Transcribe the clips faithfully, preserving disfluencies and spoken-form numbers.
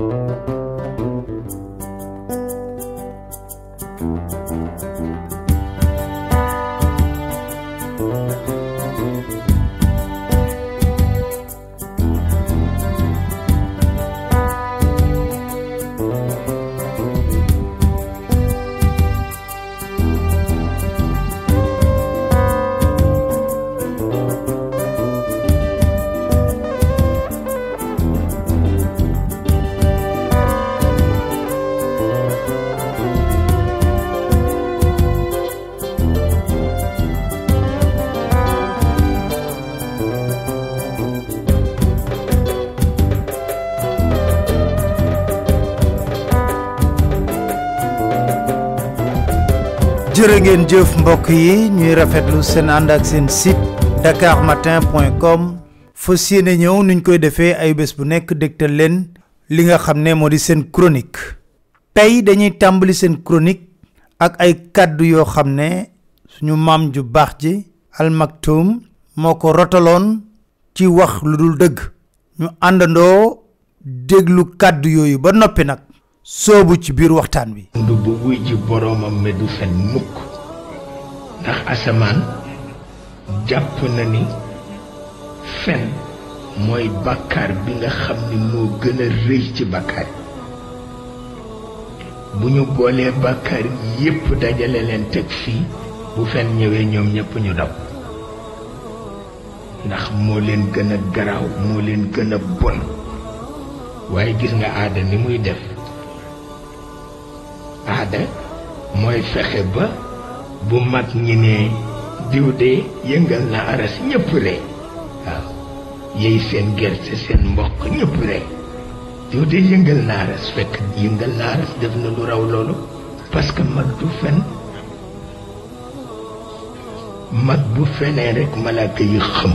jërë ngeen jëf mbokk yi ñuy rafetlu seen ànd ak seen site dakar matin point com fas yéene ñëw nuñ koy defee ay bés bu nekk dégtal leen li nga xam ne moo di seen chronique tey dañuy tàmbali seen chronique ak ay kàddu yoo xam ne suñu maam ju baax ji Al Maktoum moo ko rotaloon ci wax lu dul dëgg ñu àndandoo déglu kàddu yooyu ba noppi nag soobu ci biir waxtaan wi. ndu bu wuy ji boroomam me du fen mukk ndax asamaan jàpp na ni fen mooy bàkkaar bi nga xam ni moo gën a rëy ci bàkkaar bu ñu boolee bàkkaar yépp dajale leen teg fii bu fen ñëwee ñoom ñépp ñu daw ndax moo leen gën a garaaw moo leen gën a bon waaye gis nga aada ni muy def aada mooy fexe ba bu mag ñi ne diw de yëngal na aras ñëpp ree waaw yey seen gerte seen mboq ñëpp ree diw de yëngal na aras fekk yëngal na aras def na lu raw loolu parce que mag du fen mag bu fenee rek malaaka yi xam.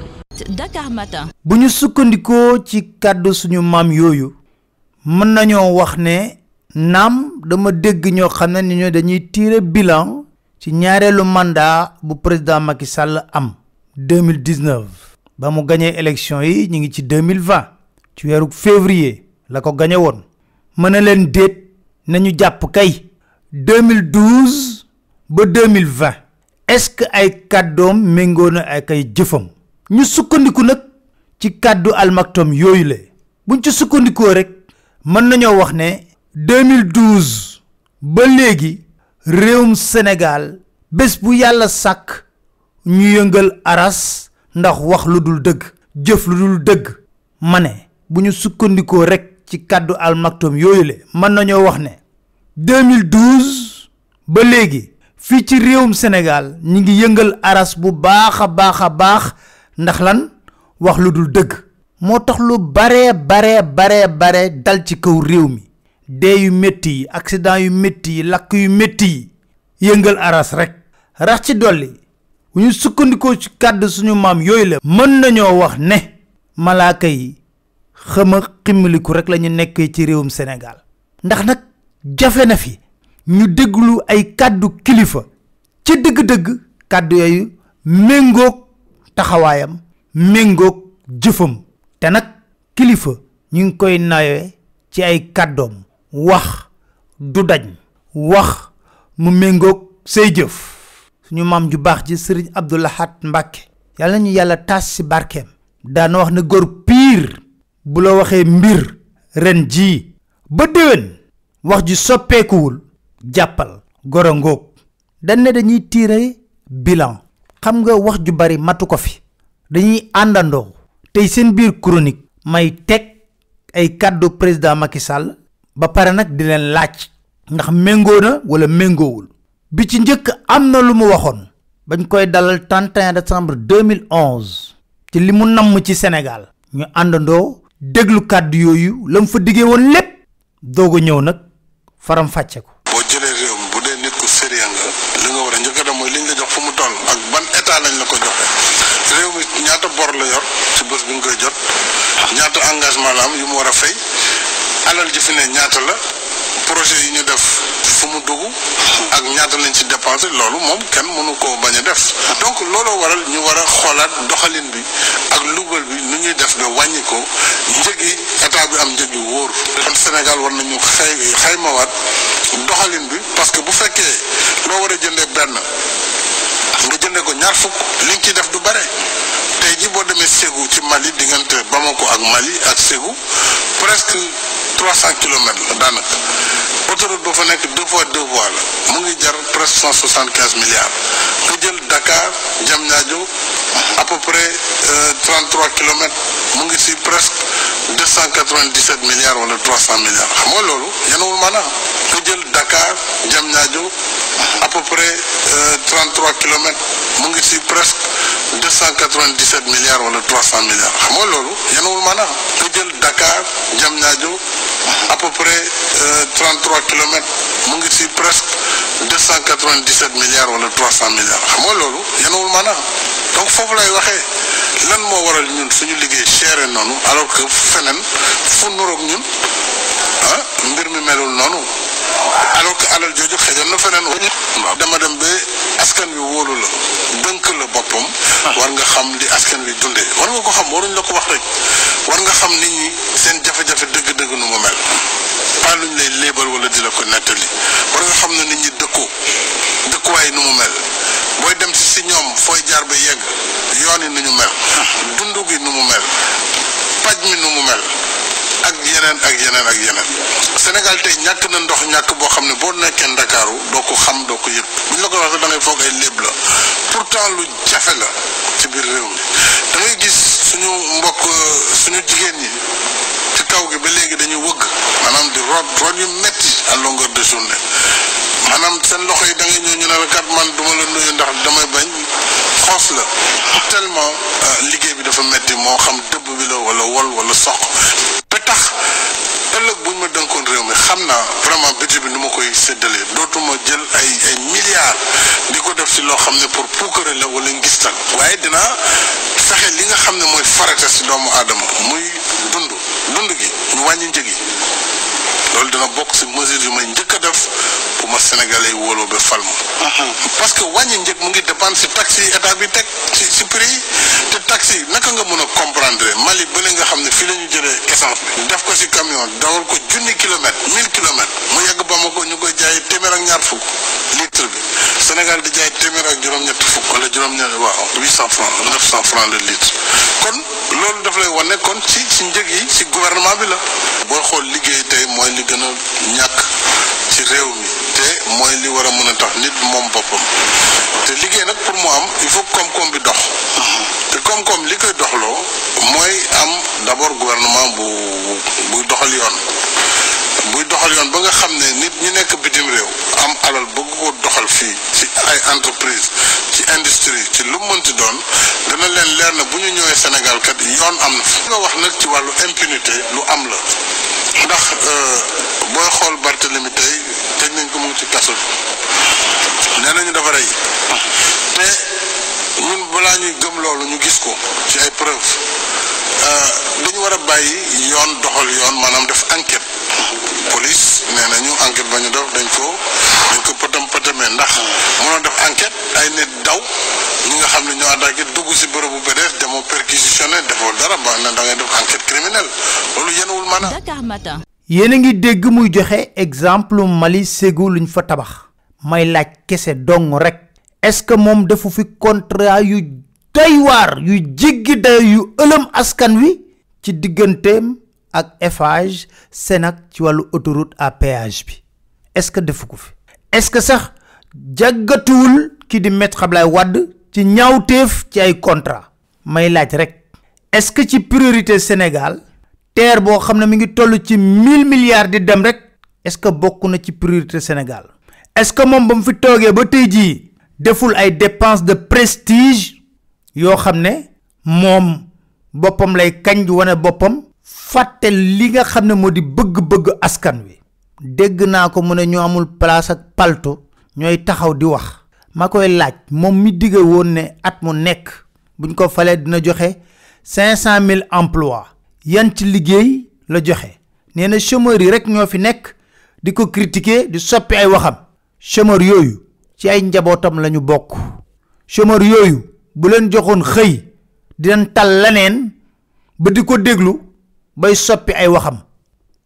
Dakar Matin. bu ñu sukkandikoo ci kàddu suñu maam yooyu mën nañoo wax ne naam dama dégg ñoo xam ne ni ñoo dañuy tirer bilan ci ñaareelu mandat bu président Macky Sall am deux mille dix-neuf ba mu gagné élection yi ñi ngi ci deux mille vingt ci weeru février la ko gagné woon mën na leen déet nañu jàpp kay deux mille douze ba deux mille vingt est-ce que ay kàddoom méngoo na ak ay jëfam ñu sukkandiku nag ci kàddu Al Maktoum yooyu la buñ ci sukkandikoo rek mën nañoo wax ne deux mille douze ba léegi réewum Sénégal bés bu yàlla sàkk ñu yëngal aras ndax wax lu dul dëgg jëf lu dul dëgg ma ne bu ñu sukkandikoo rek ci kàddu Al Maktoum yooyu la mën nañoo wax ne deux mille douze ba léegi fii ci réewum Sénégal ñi ngi yëngal aras bu baax a baax a baax ndax lan wax lu dul dëgg moo tax lu bare bare bare bare dal ci kaw réew mi dee yu métti yi accident yu métti yi lakk yu métti yi yëngal aras rek rax ci dolli bu ñu sukkandikoo ci kàddu suñu maam yooyu la mën nañoo wax ne malaaka yi xama ximmiliku rek la ñu nekkee ci réewum Sénégal ndax nag jafe na fi ñu déglu ay kàddu kilifa ci dëgg-dëgg kàddu yooyu méngoog taxawaayam méngoog jëfam te nag kilifa ñu ngi koy nawee ci ay kàddoom wax du dañ wax mu méngoog say jëf suñu maam ju baax ji Sëriñ Abdou Lahad Mbàkke yàlla ñu yàlla taas ci barkeem daana wax ne góor piir bu la waxee mbir ren jii ba déwén wax ji soppeekuwul jàppal goro ngoog dañ ne dañuy tiire bilan xam nga wax ju bari matu ko fi dañuy àndandoo tey seen biir chronique may teg ay kàddu président Macky Sall ba pare nag di leen laaj ndax méngoo na wala méngoowul bi ci njëkk am na lu mu waxoon bañ koy dalal trente et un décembre deux mille onze ci li mu namm ci Sénégal ñu àndandoo déglu kàddu yooyu la mu fa diggee woon lépp doog a ñëw nag faram fàcce ko. boo jëlee réew mi bu dee nit ku sérieux nga li nga war a njëkk a dem mooy liñ la jox fu mu toll ak ban état lañ la ko joxe réew mi ñaata bor la yor ci bés bi nga koy jot ñaata engagement la am yu mu war a fay alal ji fi ne ñaata la projet yi ñu def fu mu dugg ak ñaata lañ ci dépensé loolu moom kenn mënu koo bañ a def donc looloo waral ñu war a xoolaat doxalin bi ak lugal bi nu ñuy def ba wàññi ko njëg yi état bi am njëg yu wóor kon Sénégal war nañu xay xaymawaat doxalin bi parce que bu fekkee loo war a jëndee benn nga jëndee ko ñaar fukk li nga ciy def du bare tey ji boo demee Ségou ci Mali diggante Bamako ak Mali ak Ségou presque trois cent kilomètres la daanaka autoroute ba fa nekk deux fois deux voies la mu ngi jar presque cent soixante quinze milliards nga jël Dakar Diamniadio à peu près trente trois kilomètres mu ngi si presque deux cent quatre vingt dix sept milliards wala trois cent milliards xam nga loolu yanawul maanaam nga jël Dakar Diamniadio à peu près trente trois kilomètres mu ngi si presque deux cent quatre vingt dix sept milliards wala trois cent milliards xam nga loolu yanawul maanaam nga jël Dakar Diamniadio à peu près trente trois kilomètres mu ngi si presque deux cent quatre vingt dix sept milliards wala trois cent milliards xam nga loolu yanawul maanaam donc foofu lay waxee lan moo waral ñun suñu liggéey chéré noonu alors que feneen fu nuroog ñun ah mbir mi melul noonu alors que alal jooju xëjoon na feneen waaw dama dem ba askan wi wóolu la dënk la boppam war nga xam li askan wi dundee war nga ko xam waruñ la ko wax rek war nga xam nit ñi seen jafe-jafe dëgg-dëgg nu mu mel pas luñ lay léebal wala di la ko nettali war nga xam ne nit ñi dëkkoo dëkkuwaay nu mu mel booy dem si si ñoom fooy jaar ba yegg yoon yi nu ñu mel dundu gi nu mu mel paj mi nu mu mel ak yeneen ak yeneen ak yeneen Sénégal tey ñàkk na ndox ñàkk boo xam ne boo nekkee Ndakaaru doo ko xam doo ko yëg buñ la ko waxee da ngay foog ay léeb la pourtant lu jafe la ci biir réew mi da ngay gis suñu mbokk suñu jigéen ñi ci kaw gi ba léegi dañuy wëgg maanaam di root root yu metti à longueur de journée maanaam seen loxo yi da ngay ñëw ñu ne la kat man duma la nuyu ndax damay bañ xoos la tellement liggéey bi dafa metti moo xam dëbb bi la wala wol wala soq ba tax ëllëg buñ ma dënkoon réew mi xam naa vraiment budget bi nu ma koy séddalee dootuma jël ay ay milliards di ko def si loo xam ne pour puukare la wala ngistal waaye dinaa fexe li nga xam ne mooy farata si doomu aadama muy dund dund gi ñu wàññi njëg yi loolu dina bokk si mesure yu may njëkk a def pour ma sénégalais yi wóoloo ba fal ma parce que wàññi njëg mu ngi dépendre si taxi yi état bi teg si si prix yi te taxi yi naka nga mën a comprendre Mali ba nga xam ne fii la ñu jëlee essence bi def ko si camion dawal ko junni kilomètres mille kilomètres mu yegg Bamako ñu koy jaay téeméer ak ñaar fukk litre bi Sénégal di jaay téeméer ak juróom-ñetti fukk wala juróom-ñetti waaw huit cent francs neuf cent francs le litre kon loolu daf lay wane kon ci si njëg yi si gouvernement bi la booy xool liggéey tey mooy li gën a ñàkk ci réew mi te mooy li war a mën a tax nit moom boppam te liggéey nag pour mu am il faut koom-koom bi dox te koom-koom li koy doxloo mooy am d'abord gouvernement bu buy doxal yoon buy doxal yoon ba nga xam ne nit ñi nekk bitim réew am alal bëgg ko doxal fii ci ay entreprise ci industrie ci lu mënti doon dana leen leer na bu ñu ñëwee Sénégal kat yoon am na fi nga wax nag ci wàllu impunité lu am la ndax booy xool Barthélemy tey tëj nañ ko mu ngi ci kaso bi nee nañu dafa rey te ñun balaa ñuy gëm loolu ñu gis ko ci ay preuve dañu war a bàyyi yoon doxal yoon maanaam def enquête police nee nañu enquête ba ñu def dañ ko dañ ko pëtam pëtamee ndax mënoo def enquête ay nit daw ñi nga xam ne ñoo attaqué dugg si bërëbu B D S demoo perquisitionné defoo dara ba na da ngay def enquête criminelle loolu yenuwul maanaam. Dakar Matin. yéen a ngi dégg muy joxe exemple Mali Ségou luñ fa tabax may laaj kese dong rek est-ce que moom defu fi contrat yu doy waar yu jéggi dayo yu ëlëm askan wi ci digganteem ak Eiffage Sénac ci wàllu autoroute à péage bi est-ce que defu ko fi est-ce que sax jàggatuwul ki di Maître Abdoulaye Wade ci ñaawteef ci ay contrat may laaj rek est-ce que ci priorité Sénégal terre boo xam ne mi ngi toll ci mille milliards di dem rek est-ce que bokk na ci priorité Sénégal est-ce que moom ba mu fi toogee ba tey jii deful ay dépenses de prestige yoo xam ne moom boppam lay kañ di wane boppam fàtte li nga xam ne moo di bëgg-bëgg askan wi dégg naa ko mu ne ñu amul place ak palto ñooy taxaw di wax ma koy laaj moom mi digge woon ne at mu nekk buñ ko falee dina joxe cinq cent mille emplois yan ci liggéey la joxe nee na chômeurs yi rek ñoo fi nekk di ko critiquer di soppi ay waxam chômeurs yooyu ci ay njabootam lañu bokk chômeurs yooyu bu leen joxoon xëy dinañ tal leneen ba di ko déglu bay soppi ay waxam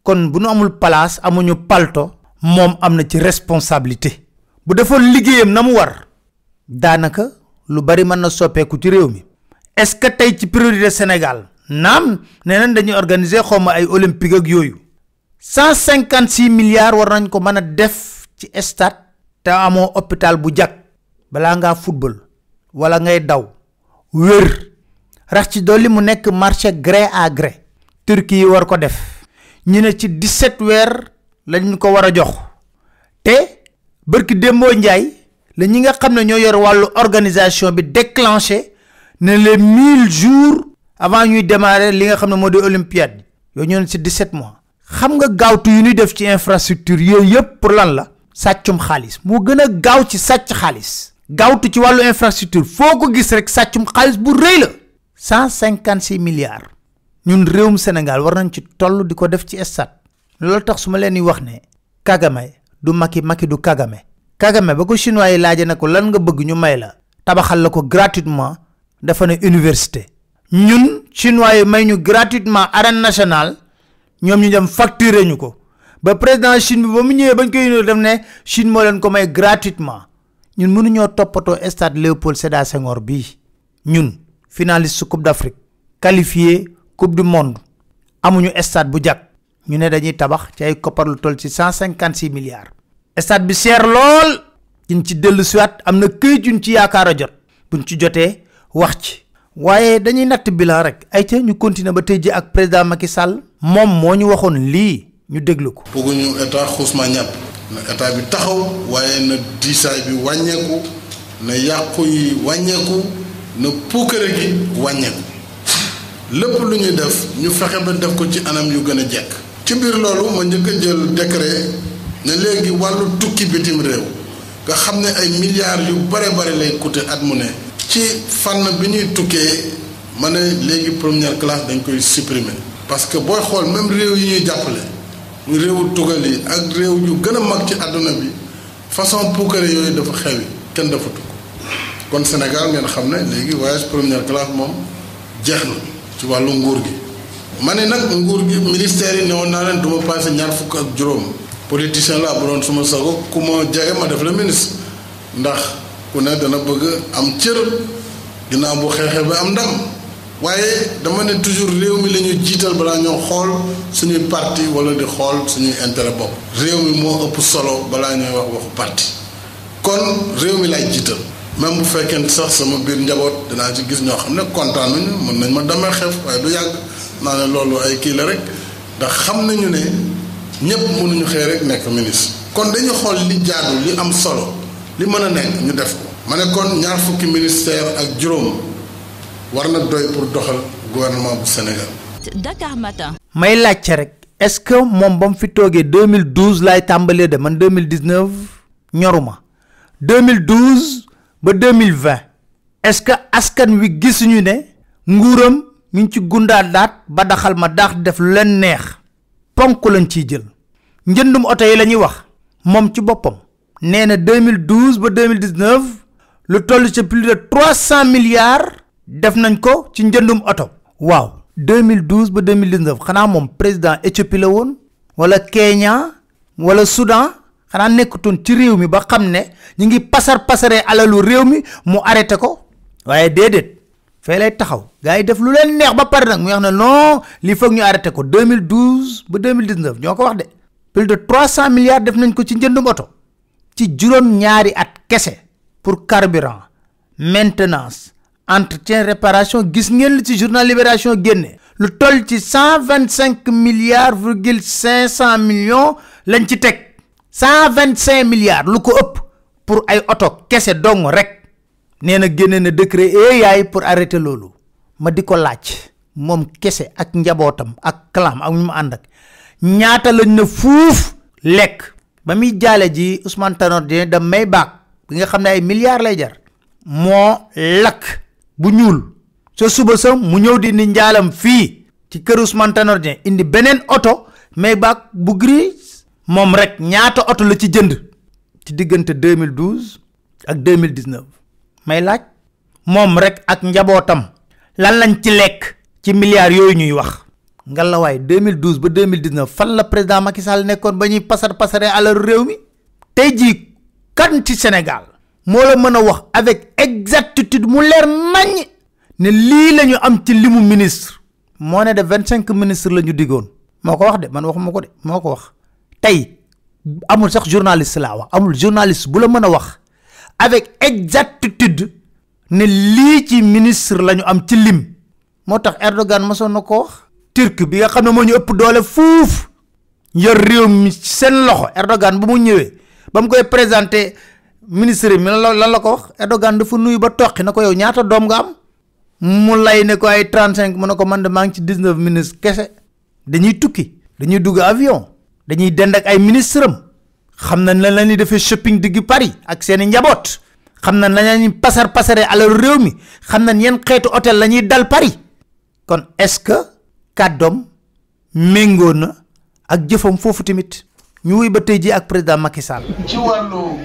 kon bu nu amul place amuñu palto moom am na ci responsabilité bu defoon liggéeyam na mu war daanaka lu bari mën na soppeeku ci réew mi. est-ce que tey ci priorité Sénégal naam nee nañ dañuy organiser xawma ay olympique ak yooyu cent cinquante six milliards war nañ ko mën a def ci stade te amoo hôpital bu jag balaa ngaa football wala ngay daw wér rax ci dolli mu nekk marché gré à gré. Turquie yi war ko def ñu ne ci dix-sept weer lañ ko war a jox te bërki démboo njaay la ñi nga xam ne ñoo yor wàllu organisation bi déclenché ne les mille jours avant ñuy démarrer li nga xam ne moo di olympiade yooyu ñoo ne ci dix-sept mois. xam nga gaawtu yu ñuy def ci infrastructure yooyu yëpp pour lan la sàccum xaalis moo gën a gaaw ci sàcc xaalis gaawtu ci wàllu infrastructure foo ko gis rek sàccum xaalis bu rëy la cent cinquante six milliards ñun réewum Sénégal war nañ ci toll di ko def ci stade loolu tax su ma leen di wax ne Kagame du Macky Macky du Kagame Kagame ba ko chinois yi laaje na ko lan nga bëgg ñu may la tabaxal la ko gratuitement dafa ne université ñun chinois yi may ñu gratuitement arène nationale ñoom ñu dem facturer ñu ko ba président Chine bi ba mu ñëwee bañ koy yónnee def ne Chine moo leen ko may gratuitement ñun mënuñoo toppatoo stade Léopold Sédar Senghor bii ñun finaliste coupe d'Afrique qualifié coupe du monde amuñu stade bu jag ñu ne dañuy tabax ci ay koppar lu toll ci cent cinquante six milliards. stade bi seer lool ñu ci dellu siwaat am na këyit yuñ ci yaakaar a jot buñ ci jotee wax ci waaye dañuy natt bilan rek ay ca ñu continuer ba tey ji ak président Macky Sall moom moo ñu waxoon lii ñu déglu ko. bëgguñu état xuusma ñàpp na état bi taxaw waaye na diisaay bi wàññeeku na yàqu yi wàññeeku na puukare gi wàññeeku lépp lu ñuy def ñu fexe ba def ko ci anam yu gën a jekk. ci biir loolu ma njëkk a jël décret ne léegi wàllu tukki bitim réew nga xam ne ay milliards yu bare bare lay coûter at mu ne. ci fànn bi ñuy tukkee ma ne léegi première classe dañ koy supprimer. parce que booy xool même réew yi ñuy jàppale mu réewu tugal yi ak réew yu gën a mag ci àdduna bi façon puukare yooyu dafa xewi kenn dafa tukk kon Sénégal ngeen xam ne léegi voyage première classe moom jeex na ci wàllu nguur gi. ma ne nag nguur gi ministère yi newoon naa leen du ma passé ñaar fukk ak juróom politicien laa bu doon suma sago ku ma jege ma def la ministre ndax ku ne dana bëgg am cër ginnaaw bu xeexee ba am ndam waaye dama ne toujours réew mi la ñuy jiital balaa ñoo xool suñuy parti wala di xool suñuy intérêt bopp. réew mi moo ëpp solo balaa ñooy wax waxu parti kon réew mi laay jiital même bu fekkee sax sama biir njaboot dinaa ci gis ñoo xam ne kontaan nañu mën nañ ma demee xeef waaye du yàgg naa ne loolu ay kii la rek ndax xam nañu ne ñëpp mënuñu xëy rek nekk ministre. kon dañu xool li jaadu li am solo li mën a nekk ñu def ko. ma ne kon ñaar fukki ministère ak juróom war na doy pour doxal gouvernement bu Sénégal. Dakar Matin. may laajte rek est-ce que moom ba mu fi toogee deux mille douze laay tàmbalee de man deux mille dix-neuf ñoruma deux mille douze ba deux mille vingt est-ce que askan wi gisuñu ne nguuram mi ngi ci gundaa daat ba daxal ma daax def lu leen neex ponk lañ ciy jël njëndum oto yi la ñuy wax moom ci boppam nee na deux mille douze ba deux mille dix-neuf lu toll ci plus de trois cent milliards def nañ ko ci njëndum oto. waaw deux mille douze ba deux mille dix-neuf xanaa moom président Éthiopie la woon wala Kenya wala Soudan xanaa nekkutoon ci réew mi ba xam ne ñu ngi pasar pasaree alalu réew mi mu arrêté ko waaye déedéet fee lay taxaw gars yi def lu leen neex ba pare nag mu wax ne non lii foog ñu arrêté ko deux mille douze ba deux mille dix-neuf ñoo ko wax de plus de trois cent milliards def nañ ko ci njëndum oto ci juróom ñaari at kese pour carburant maintenance entretien réparation gis ngeen li ci journal Libération génne lu toll ci cent vingt cinq milliards virgule cinq cent millions lañ ci teg cent vingt cinq milliards lu ko ëpp pour ay oto kese dong rek nee na génne na décret e yaay pour arrêter loolu ma di ko laaj moom kese ak njabootam ak clam ak ñu mu ànd ak ñaata lañ na fuuf lekk ba muy jaale ji Ousmane Tanor Dieng da may baag bi nga xam ne ay milliards lay jar moo lakk bu ñuul sa suba sa mu ñëw di ni njaalam fii ci kër Ousmane Tanor Dieng indi beneen oto may baag bu gris moom rek ñaata oto la ci jënd ci diggante deux mille douze ak deux mille dix-neuf may laaj moom rek ak njabootam lan lañ ci lekk ci milliards yooyu ñuy wax ngalawaay deux mille douze ba deux mille dix-neuf fan la président Macky Sall nekkoon ba ñuy pasar pasare alal réew mi tey jii kan ci Sénégal moo la mën a wax avec exactitude mu leer nañ ne lii la ñu am ci limu ministre moo ne de vingt cinq ministres la ñu diggoon moo ko wax de man waxuma ko de moo ko wax tey amul sax journaliste laa wax amul journaliste bu la mën a wax avec exactitude ne lii ci ministre la ñu am ci lim moo tax Erdogan mosoon na ko wax turc bi nga xam ne moo ñu ëpp doole fuuf yor réew mi seen loxo Erdogan bu mu ñëwee ba mu koy présenté ministre mi lan la ko wax Erdogan dafa nuyu ba toqi na ko yow ñaata doom nga am mu lay ne ko ay trente-cinq mu ne ko man de maa ngi ci dix-neuf ministres kese dañuy tukki dañuy dugg avion dañuy dend ak ay ministre am xam nañ lan la ñuy defee shopping digg Paris ak seeni njaboot xam nañ la ñuy pasar pasare alal réew mi xam nañ yenn xeetu hôtel la ñuy dal Paris kon est-ce que kàddoom méngoo na ak jëfam foofu tamit ñu wuy ba tey ji ak président Macky Sall. ci wàllu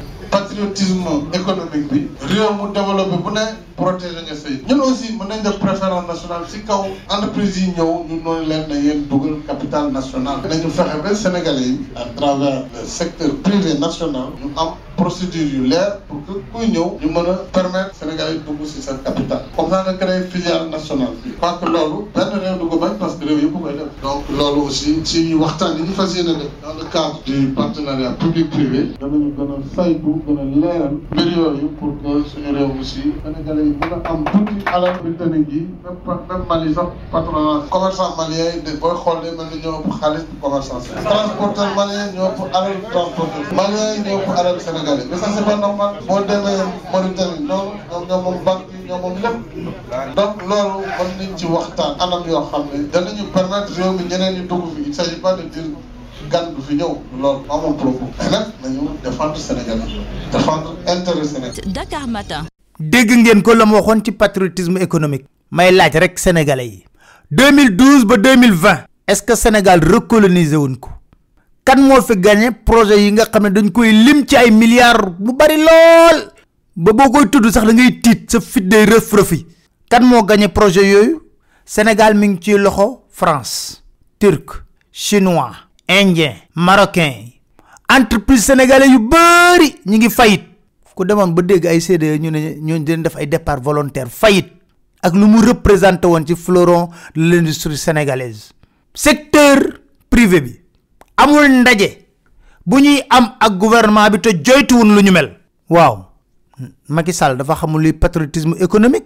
patriotisme économique bi réew mu développé bu ne protéger nga say ñun aussi mën nañ def préférence nationale si kaw entreprise yi ñëw ñu noonu leen na yéen dugal capital national nañu fexe ba Sénégalais yi à travers le secteur privé national ñu am procédure yu leer pour que kuy ñëw ñu mën a permettre Sénégalais yi dugg si seen capital comme ça nga créé filiale nationale bi je crois que loolu benn réew du ko bañ parce que réew yëpp koy def donc loolu aussi si ñu waxtaan yi ñu fas yéene def dans le cadre du partenariat public privé danañu gën a saytu gën a leeral mbir yooyu pour que suñu réew aussi Sénégalais yi mën a am tuuti alal britannique yi même même Mali sax patronat commerçant malien yi de booy xool de mel ni ñoo ëpp xaalis bu commerçant transporteur malien ñoo ëpp alal transporteur malien yi ñoo ëpp alal Sénégalais mais ça c'est pas normal boo demee Mauritanie noonu ñoom ñoo moom banque yi ñoo moom lépp donc loolu mën nañ ci waxtaan anam yoo xam ne danañu permettre réew mi ñeneen ñi dugg fi il s'agit pas de dire gan du fi ñëw loolu amul propos mais nag nañu défendre Sénégal défendre intérêt Sénégal. Dakar Matin. dégg ngeen ko la ma waxoon ci patriotisme économique may laaj rek sénégalais yi deux mille douze ba deux mille vingt est-ce que Sénégal recolonisé wuñ ko kan moo fi gagné projet yi nga xam ne dañ koy lim ci ay milliards bu bari lool ba boo koy tudd sax da ngay tiit sa fit day rëf rëfi kan moo gagné projet yooyu Sénégal mi ngi ci loxo France turc chinois indien marocain entreprise sénégalais yu bari ñi ngi fayit ku demoon ba dégg ay C D E ñu ne ñoo dañ def ay départ volontaire fayit ak lu mu représenté woon ci fleuron de l'industrie sénégalaise secteur privé bi amul ndaje bu ñuy am ak gouvernement bi te joytuwun lu ñu mel waaw Macky Sall dafa xamul luy patriotisme économique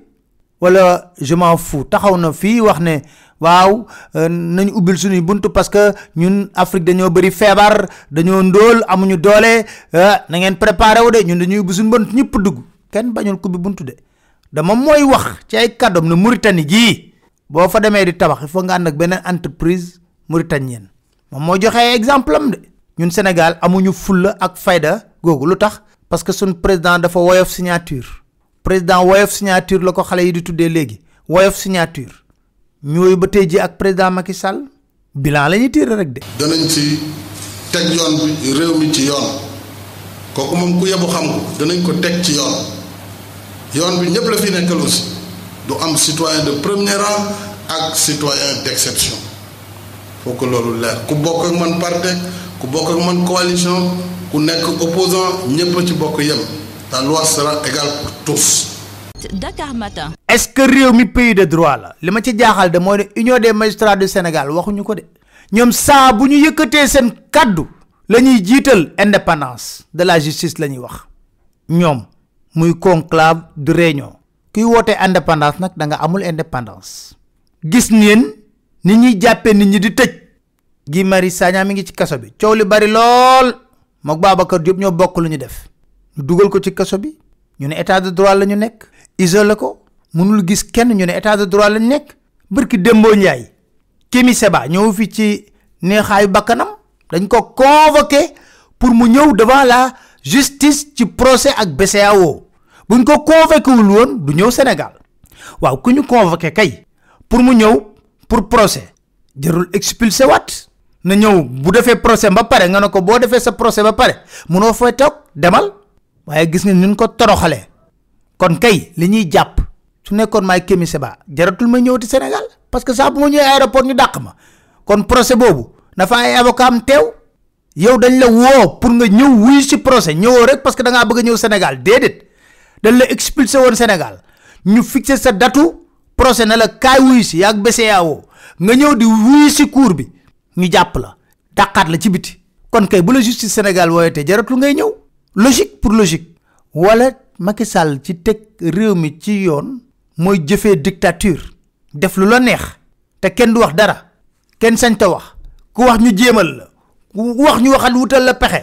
wala je m'en fous taxaw na fii wax ne waaw nañu ubbil suñuy buntu parce que ñun Afrique dañoo bëri feebar dañoo ndóol amuñu doole na ngeen préparé wu de ñun dañuy ubbi suñu bunt ñëpp dugg kenn bañul ko bi buntu de dama mooy wax ci ay kàddoom ne Mauritanie gii boo fa demee di tabax il faut nga ànd ak beneen entreprise mauritanienne moom moo joxe exemple am de ñun Sénégal amuñu fulla ak fayda googu lu tax parce que suñ président dafa woyof signature président woyof signature la ko xale yi di tuddee léegi woyof signature ñooyu ba tey ji ak président Macky Sall bilan la ñuy tiire rek de. danañ ci teg yoon bi réew mi ci yoon kooku moom ku yebu xam ko danañ ko teg ci yoon yoon bi ñëpp la fi nekkal aussi du am citoyen de premier rang ak citoyen d'exception faut que loolu leer ku bokk ak man parti ku bokk ak man coalition ku nekk opposant ñëpp ci bokk yem la loi sera égale pour tous. Dakar Matin. est-ce que réew mi pays de droit la li ma ci jaaxal de mooy ne union des magistrats du Sénégal waxuñu ko de ñoom saa bu ñu yëkkatee seen kaddu la ñuy jiital indépendance de la justice la ñuy wax ñoom muy conclave de réunion kuy wootee indépendance nag da nga amul indépendance gis ngeen nit ñuy jàppee nit ñi di tëj Guy Marius Sagna mi ngi ci kaso bi coow li bari lool mook Babacar Diop ñoo bokk lu ñu def ñu dugal ko ci kaso bi ñu ne état de droit la ñu nekk isolé ko mënul gis kenn ñu ne état de droit la ñu nekk barki Dembo Ndiaye Kémi Seba ñëw fi ci neexaayu bakkanam dañ ko convoqué pour mu ñëw devant la justice ci procès ak B C E A O buñ ko convoqué wul woon du ñëw Sénégal waaw ku ñu convoqué kay pour mu ñëw pour procès jarul expulsé waat na ñëw bu defee procès ba pare nga ne ko boo defee sa procès ba pare munoo fay toog demal waaye gis nga ñun ko toroxalee kon kay li ñuy jàpp su nekkoon maay Kémi Seba jaratul ma ñëwati Sénégal parce que saa bu ma ñëwee aéroport ñu dàq ma kon procès boobu dafa ay avocat am teew yow dañ la woo pour nga ñëw wuy si procès ñëwoo rek parce que da ngaa bëgg a ñëw Sénégal déedéet dañ la expulsé woon Sénégal ñu fixé sa datu procès na la kaay wuy si yaag B C E A O nga ñëw di wuy si cour bi ñu jàpp la dàqaat la ci biti kon kay bu la justice Sénégal wooyatee jaratul ngay ñëw logique pour logique wala Macky Sall ci teg réew mi ci yoon mooy jëfee dictature def lu la neex te kenn du wax dara kenn sañ ta wax ku wax ñu jéemal la ku wax ñu waxal wutal la pexe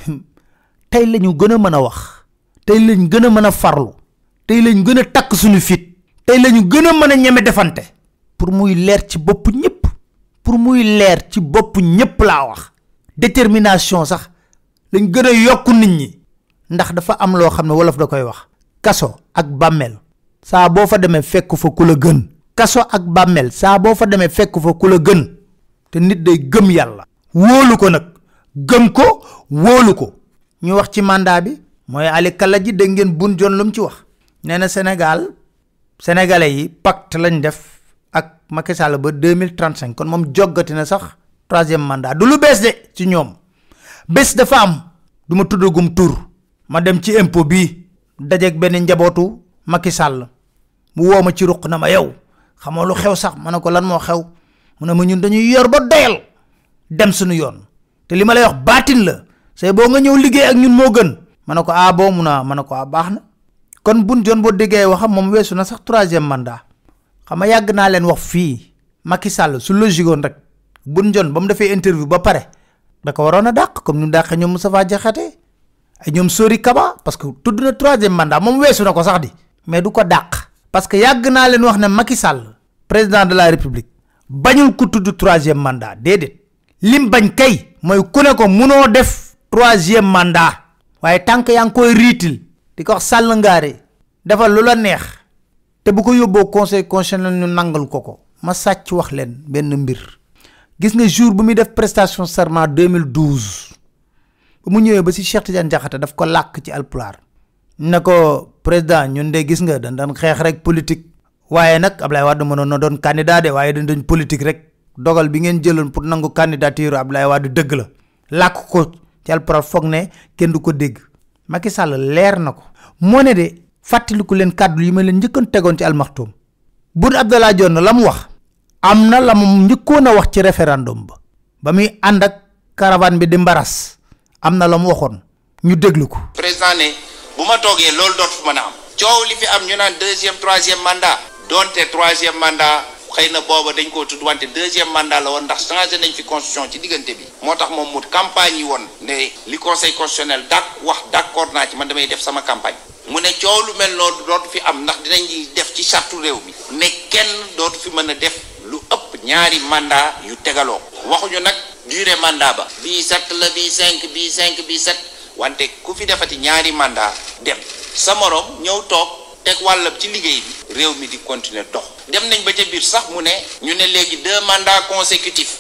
tey lañu gën a mën a wax tey lañ gën a mën a farlu tey lañ gën a takk suñu fit tey lañu gën a mën a ñeme defante pour muy leer ci bopp ñëpp pour muy leer ci bopp ñëpp laa wax détermination sax lañ gën a yokku nit ñi ndax dafa am loo xam ne wolof da koy wax kaso ak bàmmeel saa boo fa demee fekk fa ku la gën kaso ak bàmmeel saa boo fa demee fekk fa ku la gën te nit day gëm yàlla wóolu ko nag gëm ko wóolu ko ñu wax ci mandat bi mooy Ali Kala ji dégg ngeen bun jon lu mu ci wax nee na Sénégal sénégalais yi pacte lañ def ak Macky Sall ba deux mille trente-cinq kon moom joggati na sax troisième mandat du lu bees de ci ñoom bés dafa am du ma tuddagum tur ma dem ci impôt bii dajeeg benn njabootu Macky Sall mu woo ma ci ruq na ma yow xamoo lu xew sax ma ne ko lan moo xew mu ne ma ñun dañuy yor ba doyal dem suñu yoon te li ma lay wax baatin la say boo nga ñëw liggéey ak ñun moo gën ma ne ko ah boo mun a ma ne ko ah baax na kon bun jon boo déggee waxam moom weesu na sax troisième mandat xam nga yàgg naa leen wax fii Macky Sall su logique woon rek bun jon ba mu defee interview ba pare da ko waroon a dàq comme ni mu dàqee ñoom Moustapha Diakhaté ay ñoom Sori Kaba parce que tudd na troisième mandat moom weesu na ko sax di mais du ko dàq parce que yàgg naa leen wax ne Macky Sall président de la République bañul ku tudd troisième mandat déedéet lim bañ kay mooy ku ne ko munoo def troisième mandat waaye tànk yaa ngi koy riitil di ko wax sàll ngaare defal lu la neex te bu ko yóbboo conseil constitutionnel ñu nangal ko ko ma sàcc wax leen benn mbir gis nga jour bu muy def prestation serment deux mille douze ba mu ñëwee ba si Cheikh Tidiane Diakhaté daf ko làkk ci alpulaar ne ko président ñun de gis nga dañ doon xeex rek politique waaye nag Ablaye Wade mënoon na doon candidat de waaye dañ doon politique rek dogal bi ngeen jëloon pour nangu candidature Ablaye Wade dëgg la làkk ko ci alpulaar foog ne kenn du ko dégg Macky Sall leer na ko moo ne de fàttaliku leen kàddu yi ma leen njëkkoon tegoon ci almaxtum Boun Abdallah Dionne la mu wax am na la mu njëkkoon a wax ci référendum ba ba muy ànd ak caravane bi di mbaras am na la mu waxoon ñu déglu ko. président ne bu ma toogee loolu dootu fi mën a am coow li fi am ñu naan deuxième troisième mandat doonte troisième mandat xëy na booba dañ koo tudd wante deuxième mandat la woon ndax changé nañ fi constitution ci diggante bi moo tax moom mu campagne yi woon ne li conseil constitutionnel dak wax d'accord naa ci man damay def sama campagne mu ne coow lu mel noonu dootu fi am ndax dinañ def ci charte réew mi ne kenn dootu fi mën a def lu ëpp ñaari mandat yu tegaloo waxuñu nag durée mandat ba bii sept la bii cinq bii cinq bii sept wante ku fi defati ñaari mandat dem sa morom ñëw toog teg wàllam ci liggéey bi réew mi di continuer dox dem nañ ba ca biir sax mu ne ñu ne léegi deux mandats consécutifs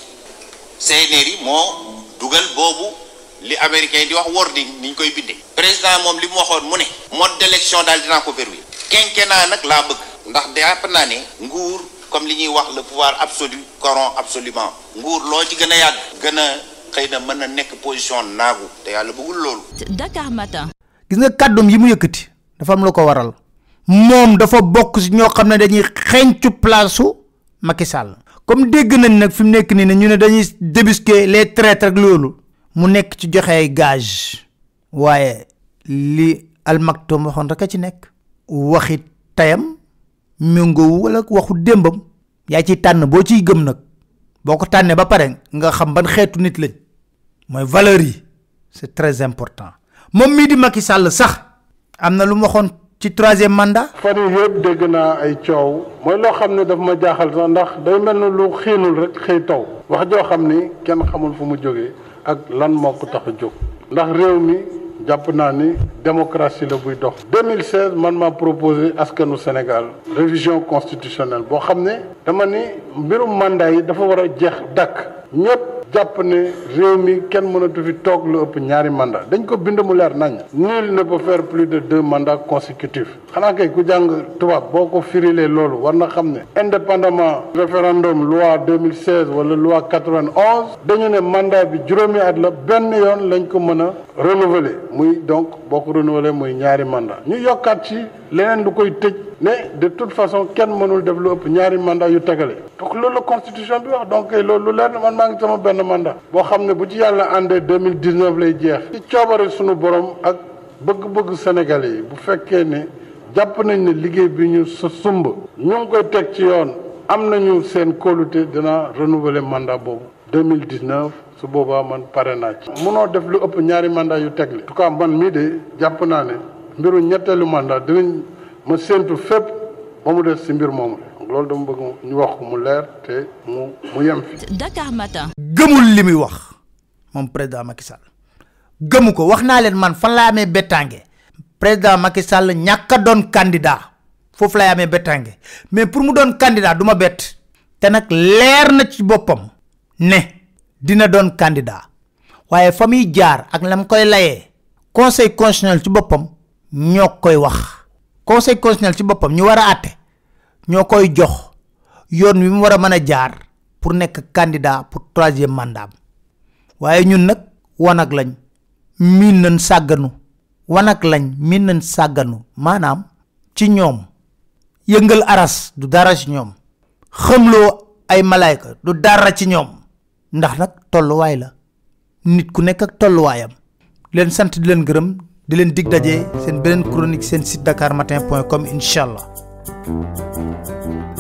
C N R yi moo dugal boobu li américain di wax wording ni ñu koy bindee président moom li mu waxoon mu ne mode d'élection daal dinaa ko verrouiller quinquennat nag laa bëgg ndax jàpp naa ne nguur comme li ñuy wax le pouvoir absolu corrompt absolument nguur loo ci gën a yàgg gën a xëy na mën na nekk position naagu te yàlla bëggul loolu. Dakar Matin. gis nga kàddum yi mu yëkkati dafa am lu ko waral moom dafa bokk si ñoo xam ne dañuy xeeñcu place su Macky Sall comme dégg nañ nag fi mu nekk nii ne ñu ne dañuy débusquer les traîtres ak loolu mu nekk ci joxe ay gage waaye li Al Maktoum waxoon rek a ci nekk waxi tayam méngoowu wala waxu démbam yaa ciy tànn boo ciy gëm nag boo ko tànnee ba pare nga xam ban xeetu nit lañ mooy valeur yi c'est très important moom mii di Macky Sall sax am na lu mu waxoon ci troisième mandat. fan yii yëpp dégg naa ay coow mooy loo xam ne daf ma jaaxal sax ndax day mel ni lu xiinul rek xëy taw wax joo xam ni kenn xamul fu mu jógee ak lan moo ko tax a jóg ndax réew mi jàpp naa ni démocratie la buy dox. deux mille seize man maa proposé askanu Sénégal révision constitutionnelle boo xam ne dama ni mbirum mandat yi dafa war a jeex dakk ñëpp jàpp ne réew mi kenn mënatu fi toog lu ëpp ñaari mandat dañ ko bind mu leer nañ. nul ne peut faire plus de deux mandats consécutifs xanaa kay ku jàng tubaab boo ko firilee loolu war na xam ne indépendamment référendum loi deux mille seize wala loi quatre-vingt-onze dañu ne mandat bi juróomi at la benn yoon lañ ko mën a renouveler muy donc boo ko renouveler muy ñaari mandat ñu yokkaat ci leneen lu koy tëj ne de toute façon kenn mënul def lu ëpp ñaari mandat yu tegale donc loolu la constitution bi wax donc loolu lu leer na man maa ngi sama benn mandat boo xam ne bu ci yàlla àndee deux mille dix-neuf lay jeex ci coobare sunu borom ak bëgg-bëgg Sénégalais yi bu fekkee ne jàpp nañ ne liggéey bi ñu sa sumb ñu ngi koy teg ci yoon am nañu seen kóolute dina renouveler mandat boobu deux mille dix-neuf su boobaa man pare naa ci munoo def lu ëpp ñaari mandat yu tegle en tout cas man mii de jàpp naa ne mbiru ñetteelu mandat dinañ ma séentu fépp ba mu des si mbir moomu loolu dama bëgg ñu wax ko mu leer te mu mu yem fi. Dakar Matin. gëmul li muy wax moom président Macky Sall gëmu ko wax naa leen man fan laa amee bettange président Macky Sall ñàkk a doon candidat foofu lay amee bettange mais pour mu doon candidat du ma bett te nag leer na ci boppam ne dina doon candidat waaye fa muy jaar ak lam koy layee conseil constitutionnel ci boppam ñoo koy wax conseil constitutionnel ci boppam ñu war a àtte ñoo koy jox yoon wi mu war a mën a jaar pour nekk candidat pour troisième mandat waaye ñun nag wanag lañ miin nañ sàgganu wanag lañ miin nañ sàgganu maanaam ci ñoom yëngal aras du dara ci ñoom xamloo ay malaayka du dara ci ñoom ndax nag tolluwaay la nit ku nekk ak tolluwaayam leen sant di leen gërëm di leen dig daje seen beneen chronique seen site dakar matin point com incha allah